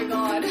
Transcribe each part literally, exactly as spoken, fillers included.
my god.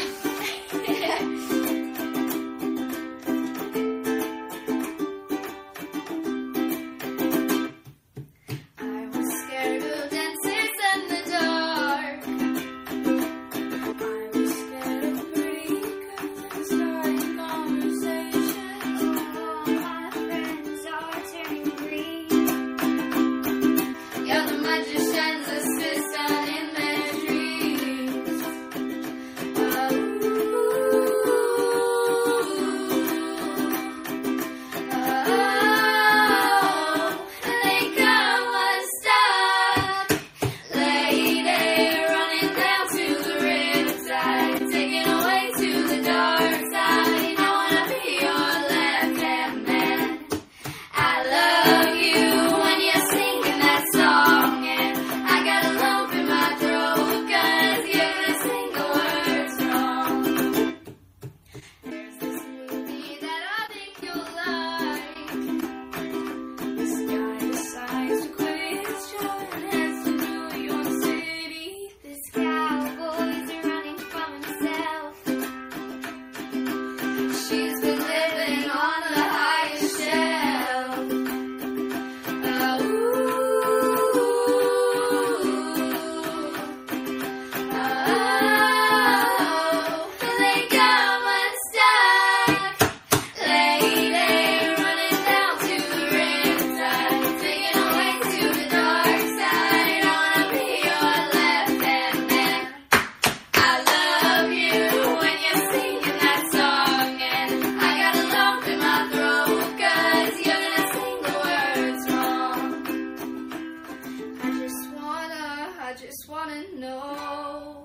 I just wanna know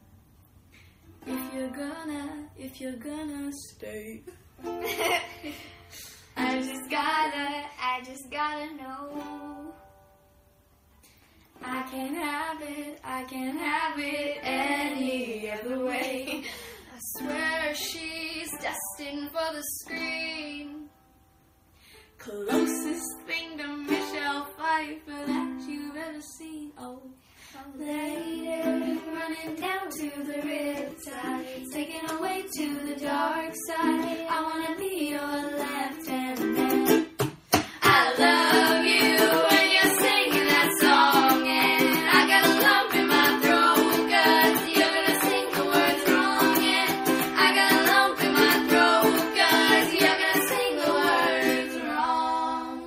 if you're gonna, if you're gonna stay. I just gotta, I just gotta know. I can't have it, I can't have it any other way. I swear she's destined for the screen. Closest thing to Michelle Pfeiffer that you've ever seen. Oh, lady, running down to the riptide, taken away to the dark side.